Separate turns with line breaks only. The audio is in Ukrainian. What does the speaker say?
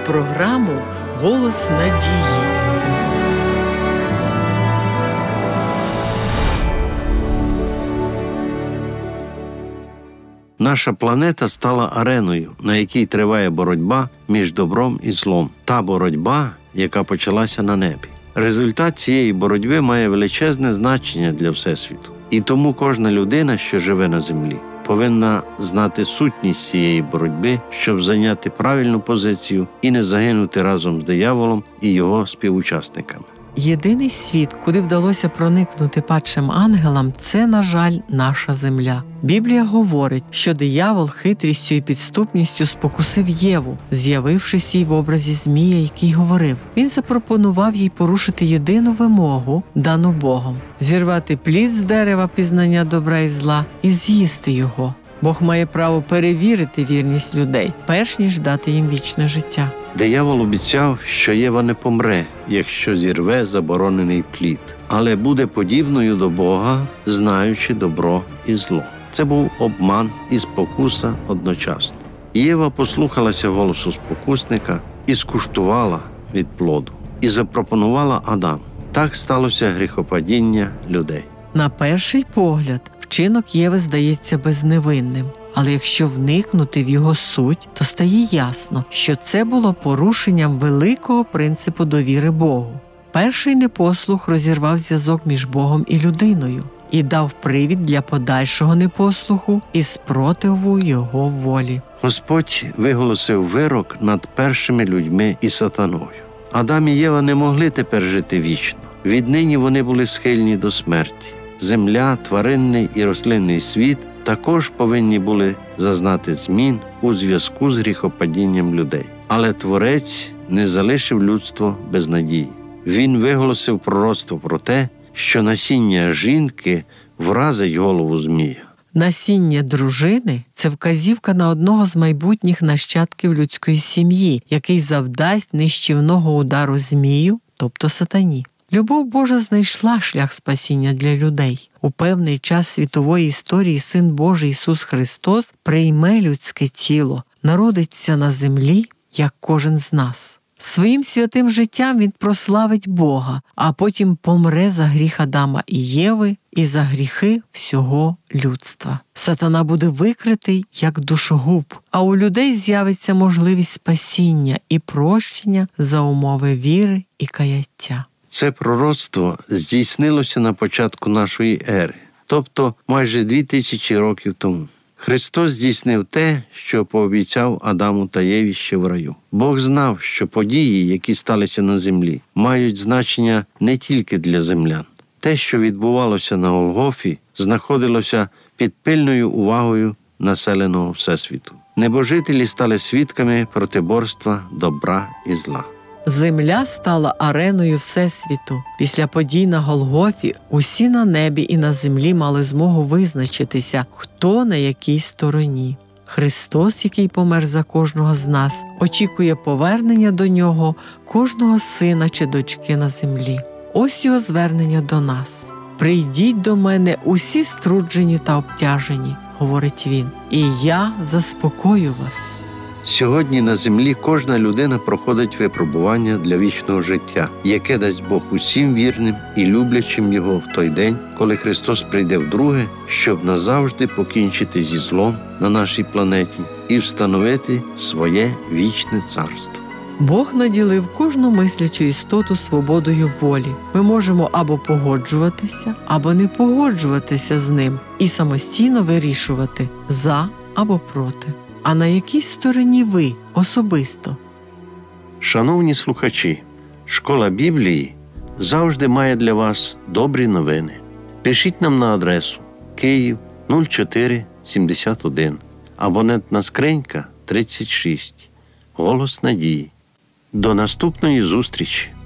програму «Голос надії».
Наша планета стала ареною, на якій триває боротьба між добром і злом. Та боротьба, яка почалася на небі. Результат цієї боротьби має величезне значення для Всесвіту. І тому кожна людина, що живе на землі, повинна знати сутність цієї боротьби, щоб зайняти правильну позицію і не загинути разом з дияволом і його співучасниками.
Єдиний світ, куди вдалося проникнути падшим ангелам, це, на жаль, наша земля. Біблія говорить, що диявол хитрістю і підступністю спокусив Єву, з'явившись їй в образі змія, який говорив. Він запропонував їй порушити єдину вимогу, дану Богом – зірвати плід з дерева пізнання добра і зла і з'їсти його. Бог має право перевірити вірність людей, перш ніж дати їм вічне життя.
Диявол обіцяв, що Єва не помре, якщо зірве заборонений плід, але буде подібною до Бога, знаючи добро і зло. Це був обман і спокуса одночасно. Єва послухалася голосу спокусника і скуштувала від плоду, і запропонувала Адаму. Так сталося гріхопадіння людей.
На перший погляд, вчинок Єви здається безневинним. Але якщо вникнути в його суть, то стає ясно, що це було порушенням великого принципу довіри Богу. Перший непослух розірвав зв'язок між Богом і людиною і дав привід для подальшого непослуху і спротиву його волі.
Господь виголосив вирок над першими людьми і сатаною. Адам і Єва не могли тепер жити вічно. Віднині вони були схильні до смерті. Земля, тваринний і рослинний світ також повинні були зазнати змін у зв'язку з гріхопадінням людей. Але Творець не залишив людство без надії. Він виголосив пророцтво про те, що насіння жінки вразить голову змія.
Насіння дружини – це вказівка на одного з майбутніх нащадків людської сім'ї, який завдасть нищівного удару змію, тобто сатані. Любов Божа знайшла шлях спасіння для людей. У певний час світової історії Син Божий Ісус Христос прийме людське тіло, народиться на землі, як кожен з нас. Своїм святим життям Він прославить Бога, а потім помре за гріх Адама і Єви і за гріхи всього людства. Сатана буде викритий як душогуб, а у людей з'явиться можливість спасіння і прощення за умови віри і каяття.
Це пророцтво здійснилося на початку нашої ери, тобто майже 2000 років тому. Христос здійснив те, що пообіцяв Адаму та Єві ще в раю. Бог знав, що події, які сталися на землі, мають значення не тільки для землян. Те, що відбувалося на Голгофі, знаходилося під пильною увагою населеного Всесвіту. Небожителі стали свідками протиборства добра і зла.
Земля стала ареною Всесвіту. Після подій на Голгофі усі на небі і на землі мали змогу визначитися, хто на якій стороні. Христос, який помер за кожного з нас, очікує повернення до Нього кожного сина чи дочки на землі. Ось його звернення до нас. «Прийдіть до мене усі струджені та обтяжені», – говорить Він, – «і я заспокою вас».
Сьогодні на землі кожна людина проходить випробування для вічного життя, яке дасть Бог усім вірним і люблячим Його в той день, коли Христос прийде вдруге, щоб назавжди покінчити зі злом на нашій планеті і встановити своє вічне царство.
Бог наділив кожну мислячу істоту свободою волі. Ми можемо або погоджуватися, або не погоджуватися з ним і самостійно вирішувати «за» або «проти». А на якій стороні ви особисто?
Шановні слухачі, Школа Біблії завжди має для вас добрі новини. Пишіть нам на адресу Київ 0471, абонентна скринька 36, Голос надії. До наступної зустрічі!